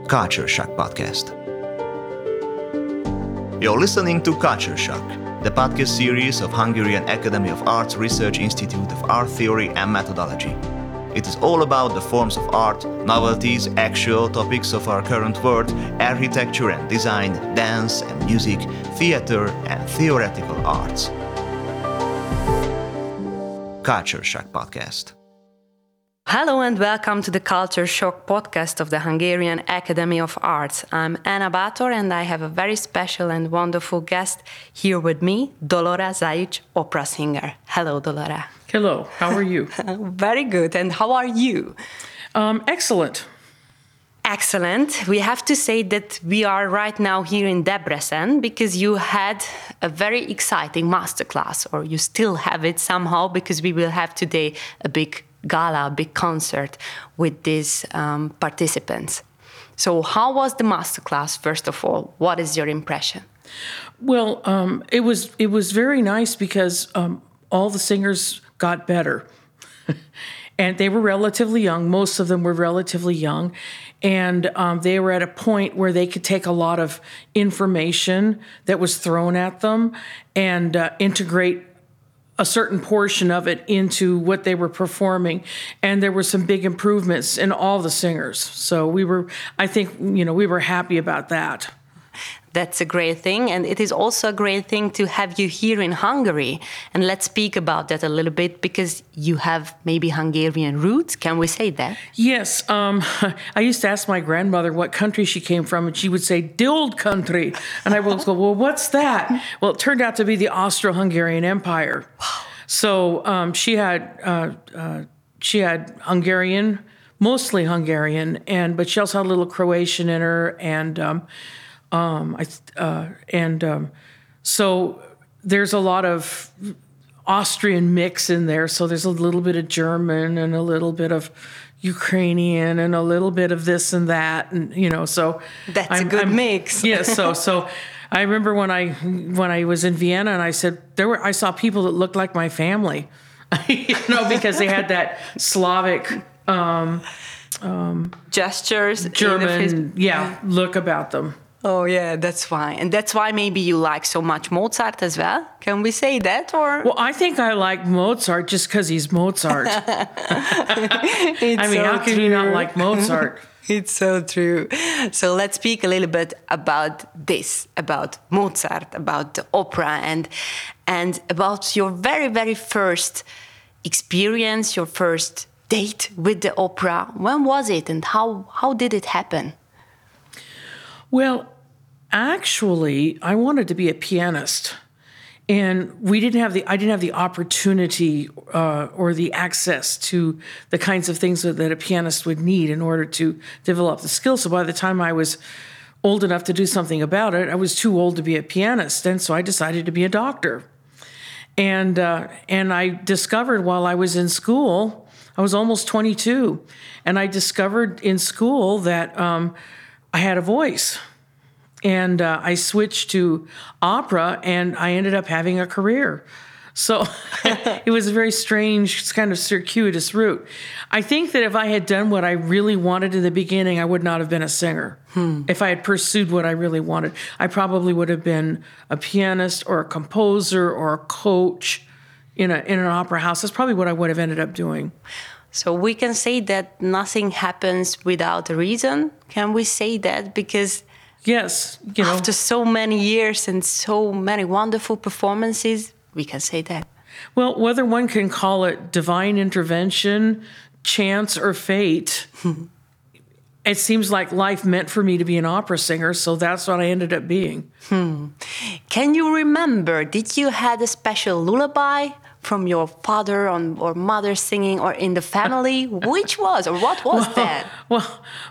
Culture Shock Podcast. You're listening to Culture Shock, the podcast series of Hungarian Academy of Arts Research Institute of Art Theory and Methodology. It is all about the forms of art, novelties, actual topics of our current world, architecture and design, dance and music, theater and theoretical arts. Culture Shock Podcast. Hello and welcome to the Culture Shock podcast of the Hungarian Academy of Arts. I'm Anna Bátor and I have a very special and wonderful guest here with me, Dolora Zajic, opera singer. Hello, Dolora. Hello, how are you? Very good. And how are you? Excellent. Excellent. We have to say that we are right now here in Debrecen because you had a very exciting masterclass, or you still have it somehow, because we will have today a big gala, a big concert with these participants. So how was the masterclass, first of all? What is your impression? Well, it was very nice because all the singers got better. And they were relatively young. Most of them were relatively young. And they were at a point where they could take a lot of information that was thrown at them and integrate a certain portion of it into what they were performing. And there were some big improvements in all the singers. So we were happy about that. That's a great thing. And it is also a great thing to have you here in Hungary. And let's speak about that a little bit, because you have maybe Hungarian roots. Can we say that? Yes. I used to ask my grandmother what country she came from, and she would say, "The old country." And I would go, "Well, what's that?" Well, it turned out to be the Austro-Hungarian Empire. Wow. So she had Hungarian, mostly Hungarian, but she also had a little Croatian in her, so there's a lot of Austrian mix in there. So there's a little bit of German and a little bit of Ukrainian and a little bit of this and that, and so that's a good mix. Yes. So I remember when I was in Vienna, and I said I saw people that looked like my family, because they had that Slavic gestures, German, look about them. Oh, yeah, that's why. And that's why maybe you like so much Mozart as well? Can we say that? Or? Well, I think I like Mozart just because he's Mozart. How can you not like Mozart? It's so true. So let's speak a little bit about this, about Mozart, about the opera, and about your very, very first experience, your first date with the opera. When was it, and how did it happen? Well, actually, I wanted to be a pianist, and I didn't have the opportunity or the access to the kinds of things that a pianist would need in order to develop the skill. So by the time I was old enough to do something about it, I was too old to be a pianist, and so I decided to be a doctor. And I discovered while I was in school, I was almost 22, and I discovered in school that I had a voice. And I switched to opera, and I ended up having a career. So it was a very strange, kind of circuitous route. I think that if I had done what I really wanted in the beginning, I would not have been a singer. If I had pursued what I really wanted, I probably would have been a pianist or a composer or a coach in an opera house. That's probably what I would have ended up doing. So we can say that nothing happens without a reason. Can we say that? Because yes, after so many years and so many wonderful performances, we can say that. Well, whether one can call it divine intervention, chance, or fate, it seems like life meant for me to be an opera singer, so that's what I ended up being. Can you remember, did you had a special lullaby from your father or mother singing, or in the family? Which was, or what was that? Well,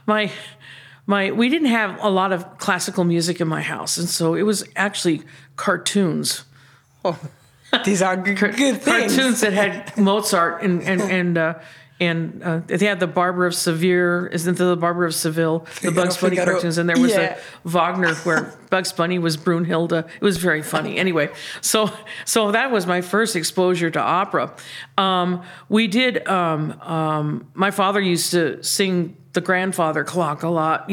we didn't have a lot of classical music in my house, and so it was actually cartoons. Oh, these are good things. Cartoons that had Mozart and they had the Barber of Seville, isn't there the Barber of Seville, the Bugs Bunny cartoons, and there was a Wagner where Bugs Bunny was Brunhilde. It was very funny. Anyway, so that was my first exposure to opera. We did. My father used to sing the grandfather clock a lot,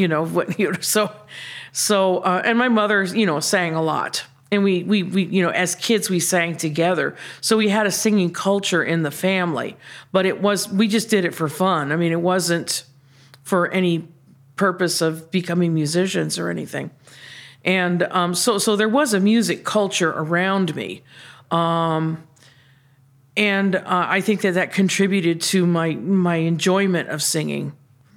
and my mother, sang a lot. And we as kids, we sang together. So we had a singing culture in the family, but we just did it for fun. I mean, it wasn't for any purpose of becoming musicians or anything. And so there was a music culture around me. And I think that contributed to my enjoyment of singing.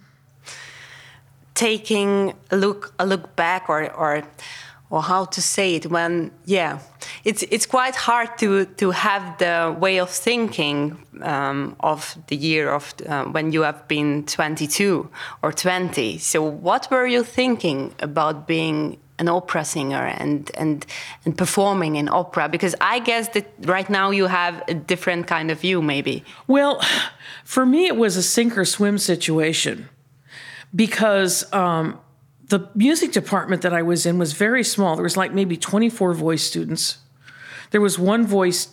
Taking a look back, or how to say it, when it's quite hard to have the way of thinking of the year of when you have been 22 or 20. So what were you thinking about being an opera singer and performing in opera? Because I guess that right now you have a different kind of view, maybe. Well, for me it was a sink or swim situation, because the music department that I was in was very small. There was like maybe 24 voice students. There was one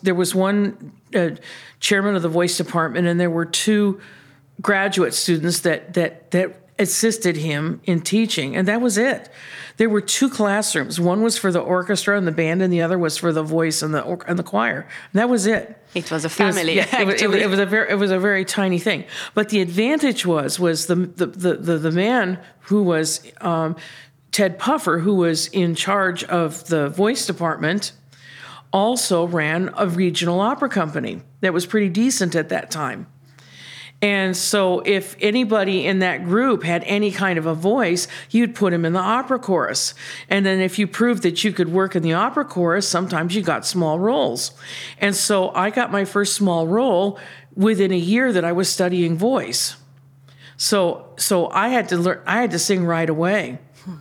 chairman of the voice department, and there were 2 graduate students that assisted him in teaching, and that was it. There were 2 classrooms. One was for the orchestra and the band, and the other was for the voice and the choir. And that was it. It was a family. It was a very tiny thing. But the advantage was the man who was Ted Puffer, who was in charge of the voice department, also ran a regional opera company that was pretty decent at that time. And so if anybody in that group had any kind of a voice, you'd put him in the opera chorus. And then if you proved that you could work in the opera chorus, sometimes you got small roles. And so I got my first small role within a year that I was studying voice. So I had to sing right away.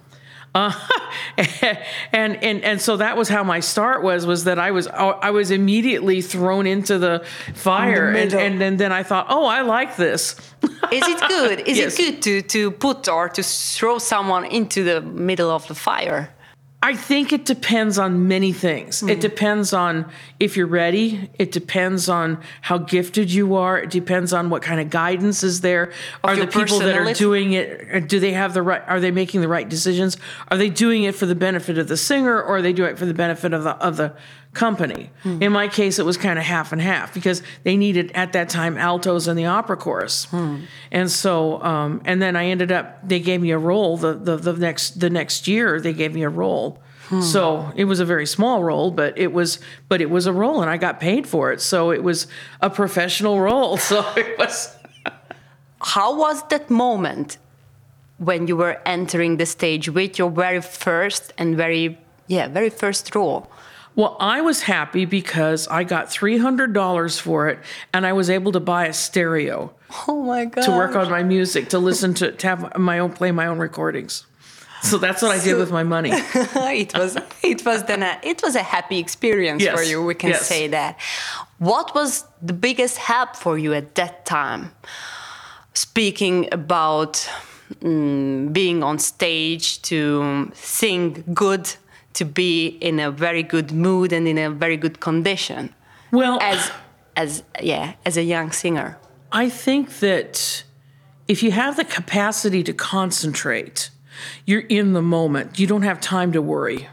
And so that was how my start was that I was immediately thrown into the fire, and then I thought, oh, I like this. Is it good? Is Yes. it good to put or to throw someone into the middle of the fire? I think it depends on many things. It depends on if you're ready. It depends on how gifted you are. It depends on what kind of guidance is there. Are the your people that are personality. doing it, do they have the right, are they making the right decisions? Are they doing it for the benefit of the singer, or are they doing it for the benefit of the company? In my case, it was kind of half and half, because they needed at that time altos in the opera chorus. And so, and then I ended up, they gave me a role the next year, they gave me a role. So it was a very small role, but it was a role, and I got paid for it. So it was a professional role. So it was. How was that moment when you were entering the stage with your very first and very first role? Well, I was happy because I got $300 for it, and I was able to buy a stereo Oh my God! to work on my music, to listen to have play my own recordings. So that's what I did with my money. it was a happy experience Yes, for you. We can yes. say that. What was the biggest help for you at that time? Speaking about being on stage, to sing good, to be in a very good mood and in a very good condition. Well, as a young singer. I think that if you have the capacity to concentrate, you're in the moment. You don't have time to worry.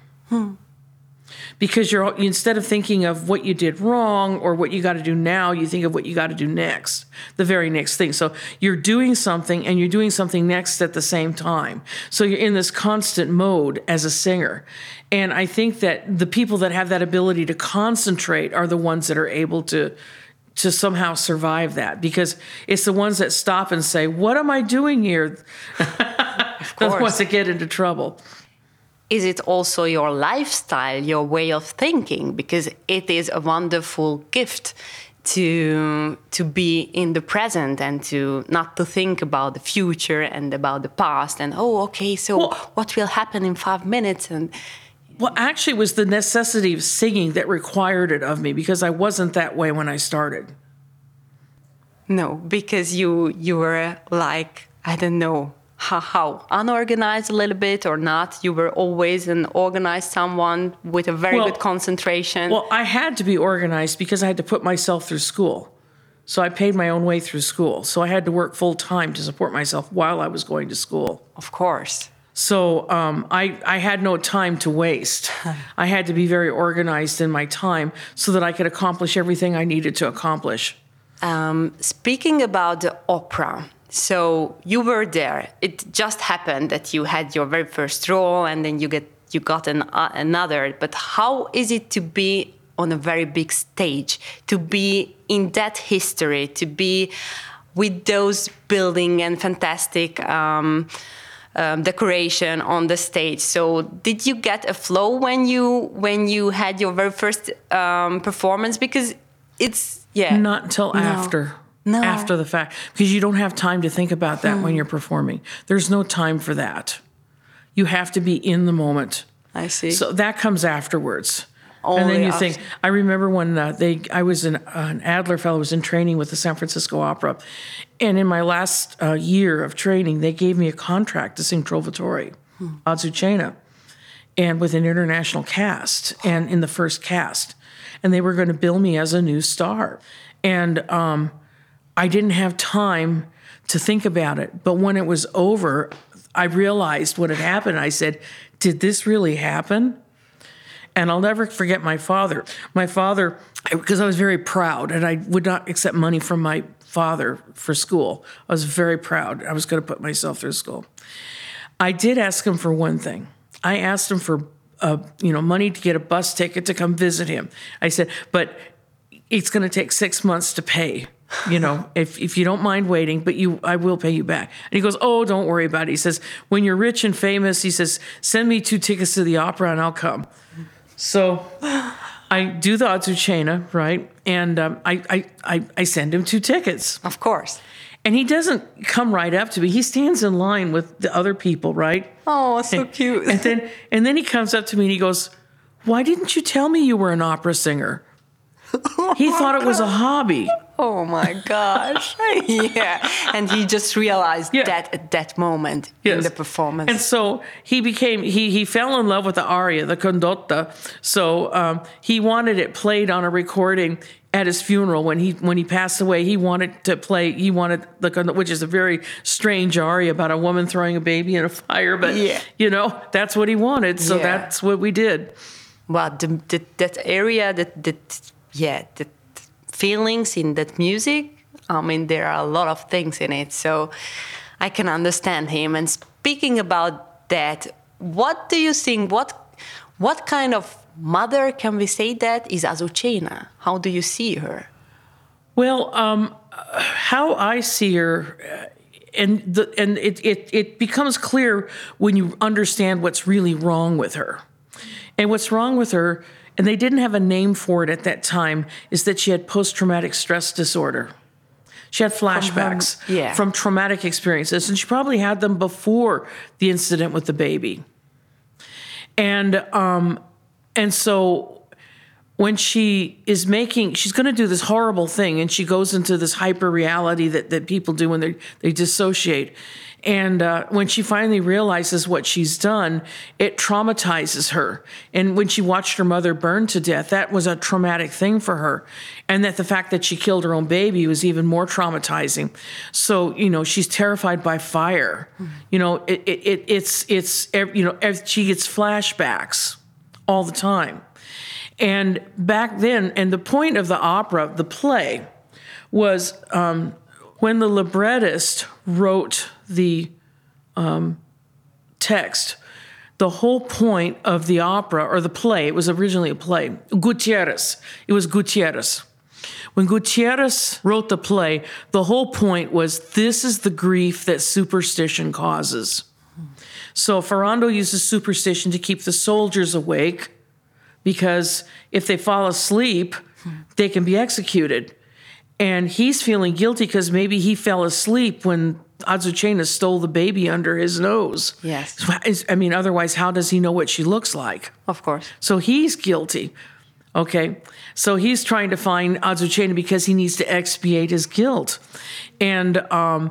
Because instead of thinking of what you did wrong or what you got to do now, you think of what you got to do next, the very next thing. So you're doing something, and you're doing something next at the same time. So you're in this constant mode as a singer. And I think that the people that have that ability to concentrate are the ones that are able to somehow survive that, because it's the ones that stop and say, what am I doing here? They're the ones that get into trouble. Is it also your lifestyle, your way of thinking? Because it is a wonderful gift to be in the present and to not to think about the future and about the past and what will happen in 5 minutes and. Well, actually, it was the necessity of singing that required it of me, because I wasn't that way when I started. No, because you were like, I don't know, how unorganized a little bit or not. You were always an organized someone with a very good concentration. Well, I had to be organized because I had to put myself through school. So I paid my own way through school. So I had to work full time to support myself while I was going to school. Of course. So I had no time to waste. I had to be very organized in my time so that I could accomplish everything I needed to accomplish. Speaking about the opera, so you were there. It just happened that you had your very first role, and then you got another. But how is it to be on a very big stage, to be in that history, to be with those building and fantastic decoration on the stage? So did you get a flow when you had your very first performance? Because it's not until after the fact, because you don't have time to think about that when you're performing. There's no time for that. You have to be in the moment. I see. So that comes afterwards. Only and then you after. think, I remember when I was an Adler Fellow, was in training with the San Francisco Opera. And in my last year of training, they gave me a contract to sing Trovatore, Azucena, and with an international cast, and in the first cast. And they were going to bill me as a new star. And I didn't have time to think about it. But when it was over, I realized what had happened. I said, did this really happen? And I'll never forget my father. My father, because I was very proud, and I would not accept money from my father for school. I was very proud. I was going to put myself through school. I did ask him for one thing. I asked him for money to get a bus ticket to come visit him. I said, but it's going to take 6 months to pay. If you don't mind waiting, but I will pay you back. And he goes, oh, don't worry about it. He says, when you're rich and famous, he says, send me 2 tickets to the opera and I'll come. So I do the Azucena, right? And I send him 2 tickets. Of course. And he doesn't come right up to me. He stands in line with the other people, right? Oh, so cute. And then he comes up to me and he goes, why didn't you tell me you were an opera singer? He thought it was a hobby. Oh my gosh. Yeah. And he just realized that at that moment in the performance. And so he fell in love with the aria, the condotta. So he wanted it played on a recording at his funeral when he passed away. He wanted the condotta, which is a very strange aria about a woman throwing a baby in a fire, but that's what he wanted. So that's what we did. Well, that area, the feelings in that music, I mean, there are a lot of things in it, so I can understand him. And speaking about that, what do you think, what kind of mother, can we say that, is Azucena? How do you see her? Well, how I see her, and it becomes clear when you understand what's really wrong with her. And what's wrong with her, and they didn't have a name for it at that time, is that she had post-traumatic stress disorder. She had flashbacks from traumatic experiences, and she probably had them before the incident with the baby. And so when she's going to do this horrible thing, and she goes into this hyper reality that people do when they dissociate. And when she finally realizes what she's done, it traumatizes her. And when she watched her mother burn to death, that was a traumatic thing for her. And that the fact that she killed her own baby was even more traumatizing. So, she's terrified by fire. She gets flashbacks all the time. And back then, and the point of the opera, the play, was when the librettist wrote the text, the whole point of the opera, or the play, it was originally a play, Gutierrez. It was Gutierrez. When Gutierrez wrote the play, the whole point was, this is the grief that superstition causes. So Ferrando uses superstition to keep the soldiers awake, because if they fall asleep, they can be executed. And he's feeling guilty because maybe he fell asleep when Azucena stole the baby under his nose. Yes. I mean, otherwise, how does he know what she looks like? Of course. So he's guilty. Okay. So he's trying to find Azucena because he needs to expiate his guilt. And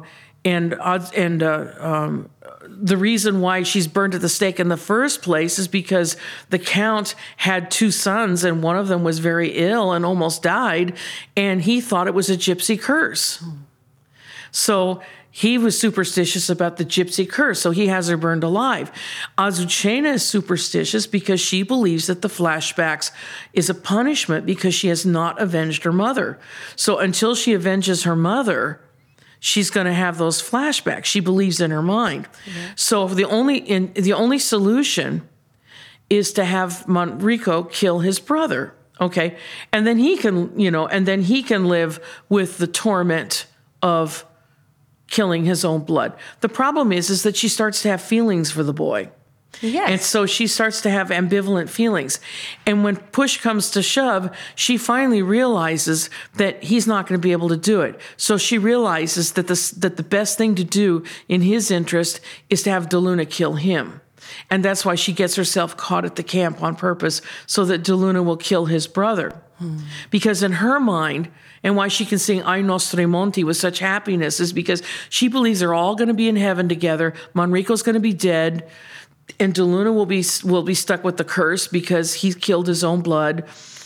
The reason why she's burned at the stake in the first place is because the Count had 2 sons, and one of them was very ill and almost died, and he thought it was a gypsy curse. So he was superstitious about the gypsy curse, so he has her burned alive. Azucena is superstitious because she believes that the flashbacks is a punishment because she has not avenged her mother. So until she avenges her mother, she's going to have those flashbacks. She believes in her mind. Mm-hmm. So the only solution is to have Manrico kill his brother, okay? And then he can live with the torment of killing his own blood. The problem is that she starts to have feelings for the boy. Yes. And so she starts to have ambivalent feelings. And when push comes to shove, she finally realizes that he's not going to be able to do it. So she realizes that the best thing to do in his interest is to have DeLuna kill him. And that's why she gets herself caught at the camp on purpose, so that DeLuna will kill his brother. Because in her mind, and why she can sing Ai Nostri Monti with such happiness, is because she believes they're all going to be in heaven together. Manrico's going to be dead, and DeLuna will be stuck with the curse because he killed his own blood.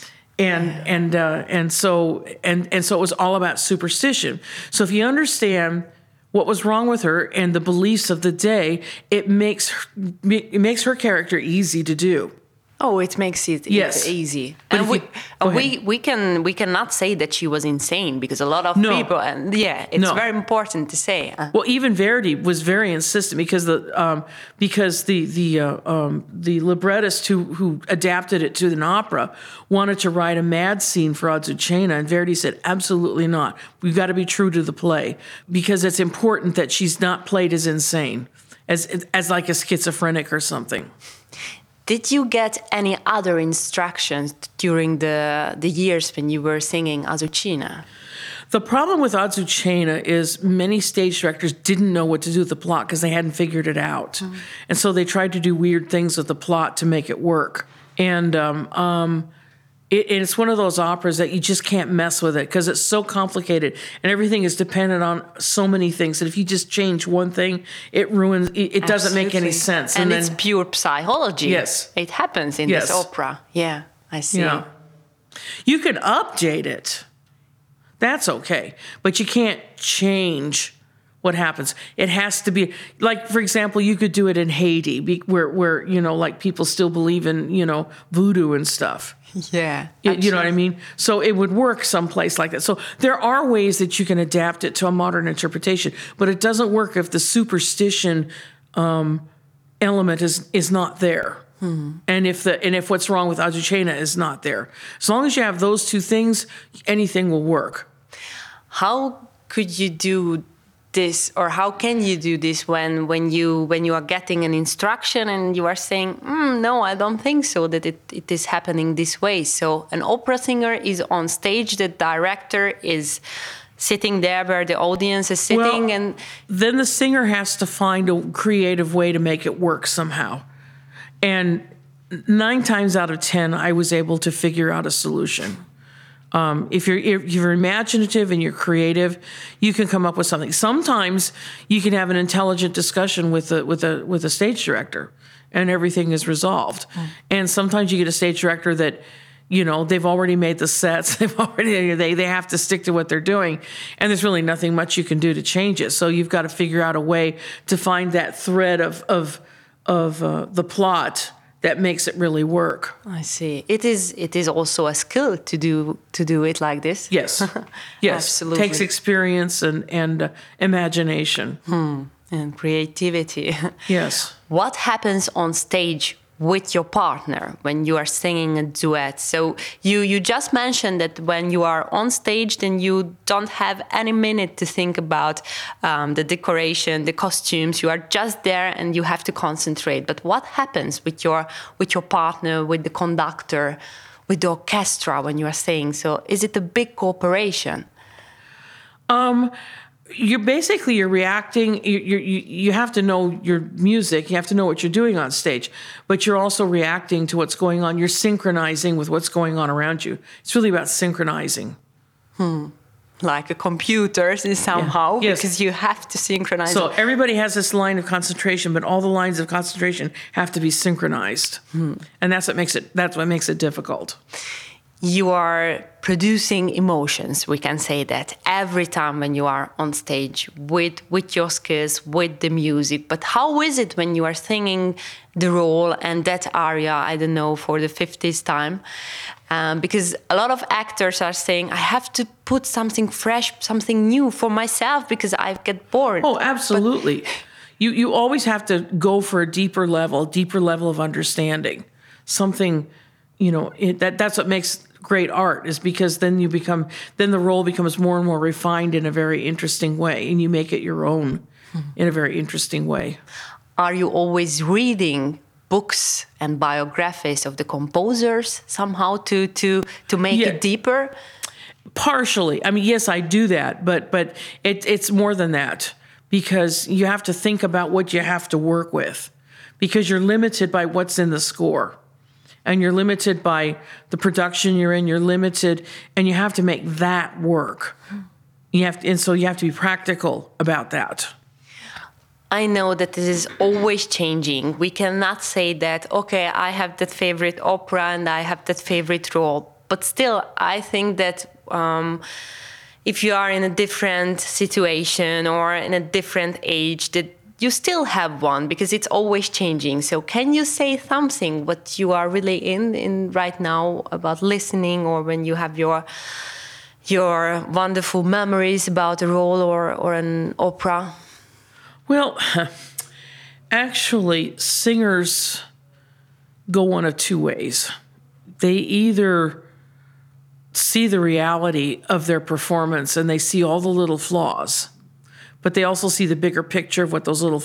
And so it was all about superstition. So if you understand what was wrong with her and the beliefs of the day, it makes her character easy to do. Oh, it makes it Yes. easy. But And we cannot say that she was insane, because a lot of people, and it's very important to say. Well, even Verdi was very insistent because the librettist who adapted it to an opera wanted to write a mad scene for Azucena, and Verdi said, absolutely not. We've got to be true to the play, because it's important that she's not played as insane, as like a schizophrenic or something. Did you get any other instructions during the years when you were singing Azucena? The problem with Azucena is many stage directors didn't know what to do with the plot because they hadn't figured it out. Mm. And so they tried to do weird things with the plot to make it work. And it's one of those operas that you just can't mess with it because it's so complicated and everything is dependent on so many things that if you just change one thing, it ruins, it doesn't make any sense. And it's pure psychology. Yes. It happens in this opera. Yeah, I see. Yeah. You can update it. That's okay. But you can't change what happens. It has to be, like, for example, you could do it in Haiti where like people still believe in, voodoo and stuff. Yeah. You know what I mean? So it would work someplace like that. So there are ways that you can adapt it to a modern interpretation, but it doesn't work if the superstition element is not there. Hmm. And if what's wrong with Azucena is not there. As long as you have those two things, anything will work. How could you do this, or how can you do this when you are getting an instruction and you are saying, no, I don't think so, that it is happening this way? So an opera singer is on stage, the director is sitting there where the audience is sitting, and then the singer has to find a creative way to make it work somehow. And 9 times out of 10, I was able to figure out a solution. If you're imaginative and you're creative, you can come up with something. Sometimes you can have an intelligent discussion with a stage director, and everything is resolved. Mm. And sometimes you get a stage director that, they've already made the sets. They have to stick to what they're doing, and there's really nothing much you can do to change it. So you've got to figure out a way to find that thread of the plot that makes it really work. I see. It is also a skill to do it like this. Yes, yes. Absolutely. It takes experience and imagination and creativity. Yes. What happens on stage with your partner when you are singing a duet? So you just mentioned that when you are on stage, then you don't have any minute to think about the decoration, the costumes. You are just there and you have to concentrate. But what happens with your partner, with the conductor, with the orchestra when you are singing? So is it a big cooperation? You're reacting. You have to know your music. You have to know what you're doing on stage, but you're also reacting to what's going on. You're synchronizing with what's going on around you. It's really about synchronizing. like a computer somehow, Yes. because you have to synchronize. So everybody has this line of concentration, but all the lines of concentration have to be synchronized, and that's what makes it difficult. You are producing emotions, we can say that, every time when you are on stage with your skills, with the music. But how is it when you are singing the role and that aria, I don't know, for the 50th time? Because a lot of actors are saying, I have to put something fresh, something new for myself because I get bored. Oh, absolutely. You always have to go for a deeper level of understanding. Something, that's what makes great art, is because then the role becomes more and more refined in a very interesting way, and you make it your own in a very interesting way. Are you always reading books and biographies of the composers somehow to make it deeper? Partially. I mean, yes, I do that, but it's more than that, because you have to think about what you have to work with, because you're limited by what's in the score. And you're limited by the production you're in. You're limited, and you have to make that work. So you have to be practical about that. I know that this is always changing. We cannot say that, okay, I have that favorite opera and I have that favorite role. But still, I think that if you are in a different situation or in a different age, that you still have one, because it's always changing. So can you say something what you are really in right now about listening, or when you have your wonderful memories about a role or an opera? Well, actually, singers go one of two ways. They either see the reality of their performance and they see all the little flaws, but they also see the bigger picture of what those little,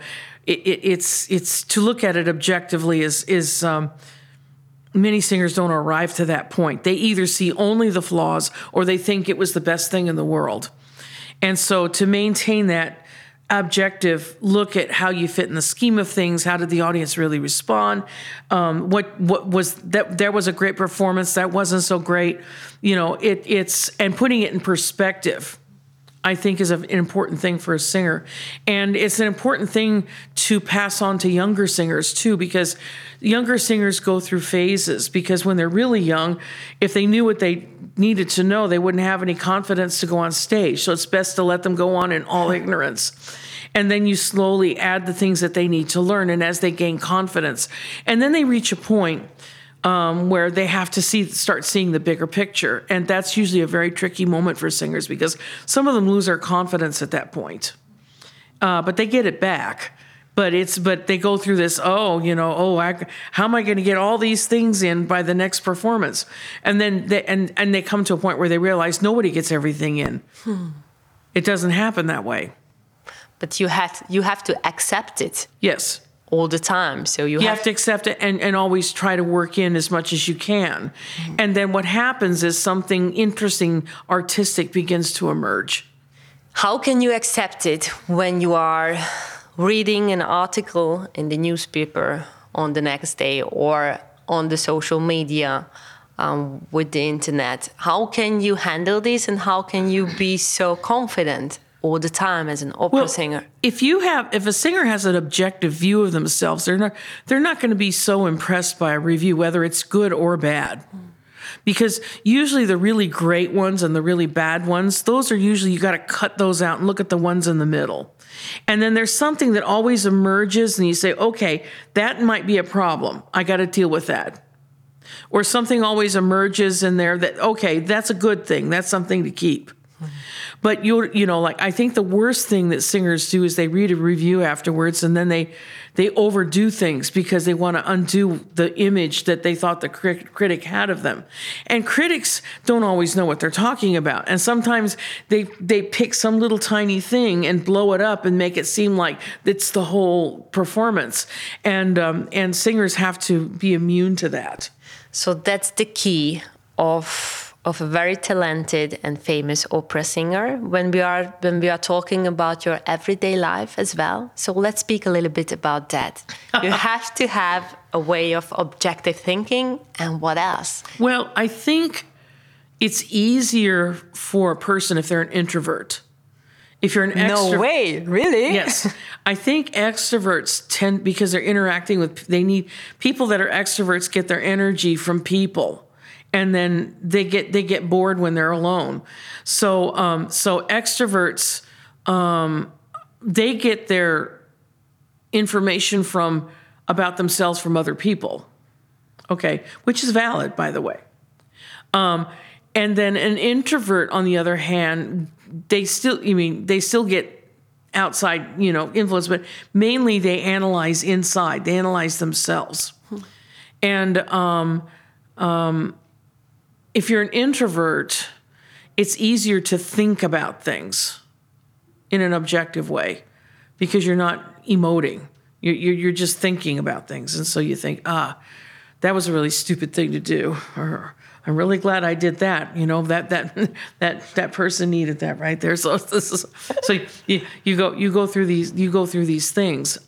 it's to look at it objectively is many singers don't arrive to that point. They either see only the flaws or they think it was the best thing in the world. And so to maintain that objective look at how you fit in the scheme of things, how did the audience really respond? What was that? There was a great performance. That wasn't so great. It's and putting it in perspective, I think, is an important thing for a singer. And it's an important thing to pass on to younger singers too, because younger singers go through phases, because when they're really young, if they knew what they needed to know, they wouldn't have any confidence to go on stage. So it's best to let them go on in all ignorance. And then you slowly add the things that they need to learn, and as they gain confidence. And then they reach a point where they have to start seeing the bigger picture. And that's usually a very tricky moment for singers, because some of them lose their confidence at that point. But they get it back. But they go through this, how am I going to get all these things in by the next performance? And then they come to a point where they realize nobody gets everything in. It doesn't happen that way. But you have to accept it. Yes. All the time. So you have to accept it and always try to work in as much as you can. Mm-hmm. And then what happens is something interesting, artistic begins to emerge. How can you accept it when you are reading an article in the newspaper on the next day or on the social media with the internet? How can you handle this, and how can you be so confident all the time as an opera singer? If a singer has an objective view of themselves, they're not going to be so impressed by a review, whether it's good or bad. Because usually the really great ones and the really bad ones, those are usually, you got to cut those out and look at the ones in the middle. And then there's something that always emerges and you say, okay, that might be a problem. I got to deal with that. Or something always emerges in there that, okay, that's a good thing. That's something to keep. But I think the worst thing that singers do is they read a review afterwards and then they overdo things because they want to undo the image that they thought the critic had of them. And critics don't always know what they're talking about. And sometimes they pick some little tiny thing and blow it up and make it seem like it's the whole performance. And singers have to be immune to that. So that's the key of a very talented and famous opera singer when we are talking about your everyday life as well. So let's speak a little bit about that. You have to have a way of objective thinking, and what else? Well, I think it's easier for a person if they're an introvert. If you're an extrovert. No way, really? Yes. I think extroverts tend, because they're interacting with, they need, people that are extroverts get their energy from people. And then they get bored when they're alone. So extroverts, they get their information about themselves from other people. Okay. Which is valid, by the way. And then an introvert, on the other hand, they still get outside, influence, but mainly they analyze inside. They analyze themselves. And if you're an introvert, it's easier to think about things in an objective way because you're not emoting. You're just thinking about things. And so you think, that was a really stupid thing to do. Or I'm really glad I did that. That person needed that right there. So you go through these things.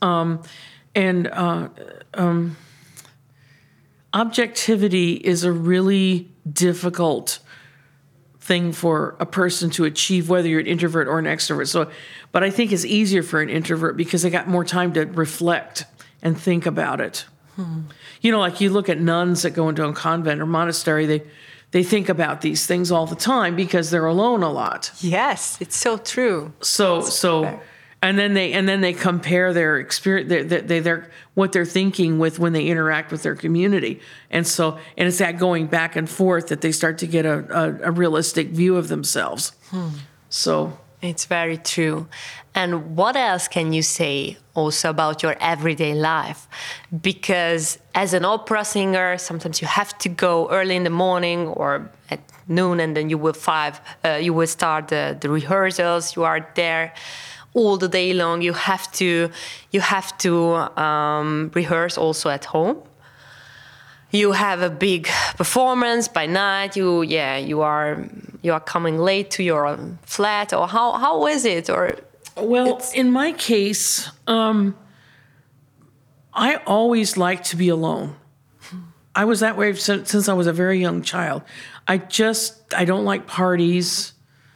Objectivity is a really difficult thing for a person to achieve, whether you're an introvert or an extrovert. But I think it's easier for an introvert because they got more time to reflect and think about it. Like you look at nuns that go into a convent or monastery, they think about these things all the time because they're alone a lot. Yes, it's so true. And then they compare their experience, what they're thinking with when they interact with their community, and it's that going back and forth that they start to get a realistic view of themselves. So it's very true. And what else can you say also about your everyday life? Because as an opera singer, sometimes you have to go early in the morning or at noon, and then you will start the rehearsals. You are there all the day long. You have to rehearse also at home. You have a big performance by night. You are coming late to your flat, or how is it? Or in my case, I always liked to be alone. I was that way since I was a very young child. I don't like parties.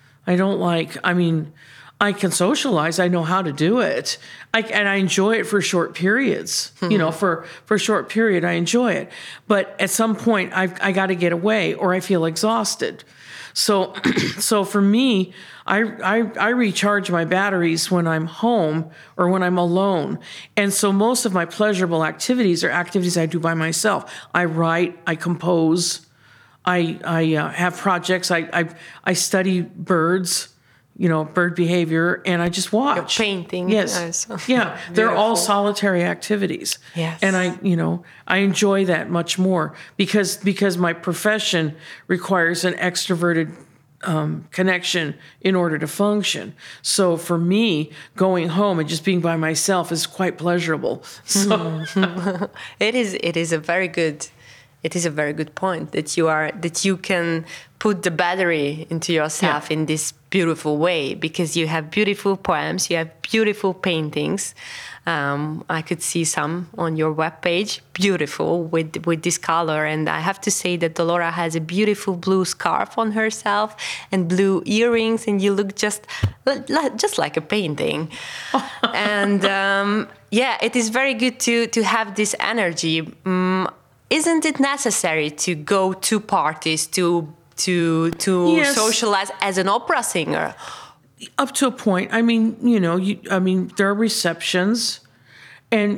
I can socialize. I know how to do it. And I enjoy it for short periods. For a short period, I enjoy it. But at some point, I got to get away or I feel exhausted. So for me, I recharge my batteries when I'm home or when I'm alone. And so most of my pleasurable activities are activities I do by myself. I write, I compose, I have projects. I study birds. Bird behavior, and I just watch. You're painting. Yes. Yeah. They're all solitary activities. Yes. And I enjoy that much more because my profession requires an extroverted connection in order to function. So for me, going home and just being by myself is quite pleasurable. So it is a very good point that you can put the battery into yourself in this beautiful way, because you have beautiful poems, you have beautiful paintings. I could see some on your webpage, beautiful with this color. And I have to say that Dolora has a beautiful blue scarf on herself and blue earrings, and you look just like a painting. And it is very good to have this energy. Isn't it necessary to go to parties to Yes. socialize as an opera singer? Up to a point. There are receptions, and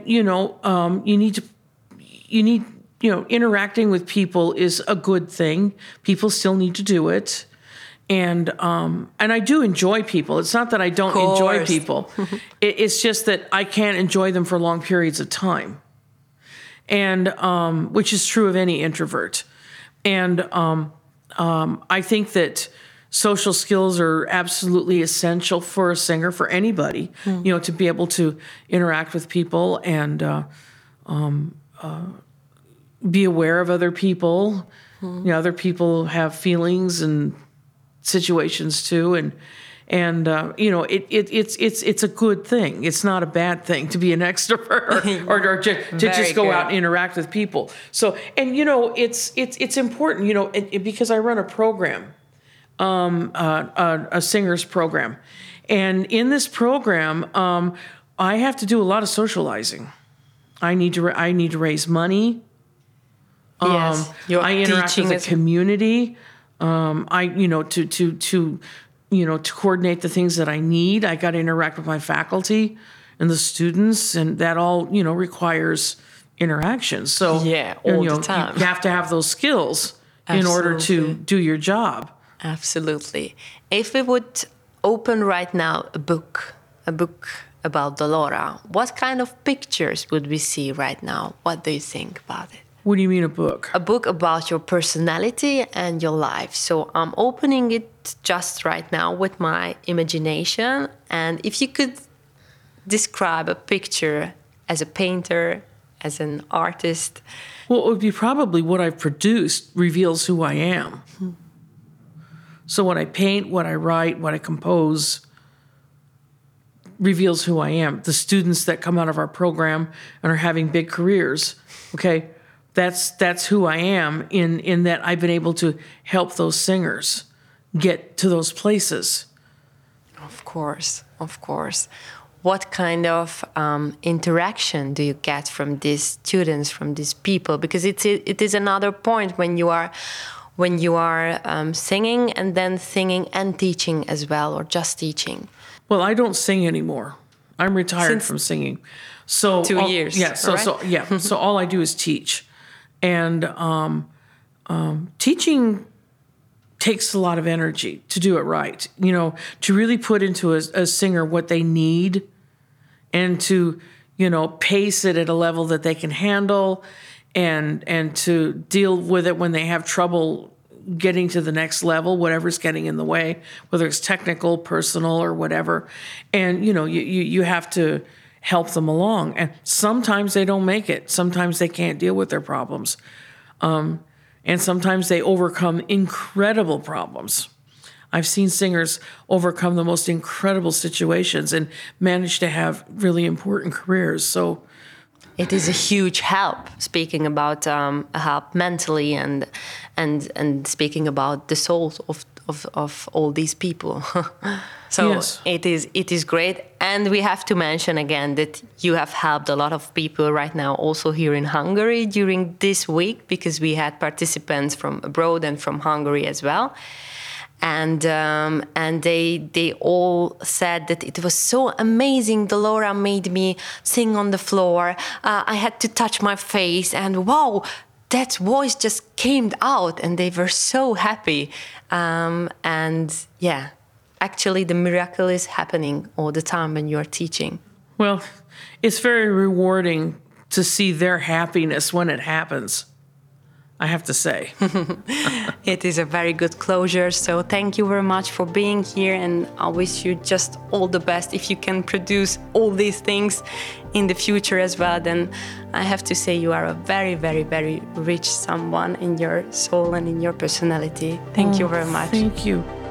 interacting with people is a good thing. People still need to do it. And I do enjoy people. It's not that I don't enjoy people. It's just that I can't enjoy them for long periods of time. And which is true of any introvert. And I think that social skills are absolutely essential for a singer, for anybody, to be able to interact with people and be aware of other people. Other people have feelings and situations too, And it's a good thing. It's not a bad thing to be an extrovert or to just go out and interact with people. So, and it's important, because I run a program, a singers program, and in this program, I have to do a lot of socializing. I need to raise money. Yes, I interact with the community. To coordinate the things that I need. I got to interact with my faculty and the students, and that all, requires interaction. So all the time. You have to have those skills in order to do your job. Absolutely. If we would open right now a book about Delora, what kind of pictures would we see right now? What do you think about it? What do you mean a book? A book about your personality and your life. So I'm opening it just right now with my imagination. And if you could describe a picture as a painter, as an artist. Well, it would be probably what I've produced reveals who I am. So what I paint, what I write, what I compose reveals who I am. The students that come out of our program and are having big careers, okay? That's who I am in that I've been able to help those singers get to those places. Of course. What kind of interaction do you get from these students, from these people? Because it is another point when you are singing and then singing and teaching as well, or just teaching. Well, I don't sing anymore. I'm retired from singing. So 2 years. Yeah. So all I do is teach. And teaching takes a lot of energy to do it right. To really put into a singer what they need, and to pace it at a level that they can handle, and to deal with it when they have trouble getting to the next level, whatever's getting in the way, whether it's technical, personal, or whatever. And you have to help them along. And sometimes they don't make it. Sometimes they can't deal with their problems. And sometimes they overcome incredible problems. I've seen singers overcome the most incredible situations and manage to have really important careers. So it is a huge help, speaking about help mentally and speaking about the souls of all these people. So yes. It is great. And we have to mention again that you have helped a lot of people right now also here in Hungary during this week, because we had participants from abroad and from Hungary as well. And they all said that it was so amazing. Delora made me sing on the floor. I had to touch my face, and wow, that voice just came out, and they were so happy. And yeah, actually the miracle is happening all the time when you're teaching. Well, it's very rewarding to see their happiness when it happens, I have to say. It is a very good closure. So thank you very much for being here, and I wish you just all the best. If you can produce all these things in the future as well, then I have to say you are a very, very, very rich someone in your soul and in your personality. Thank you very much. Thank you.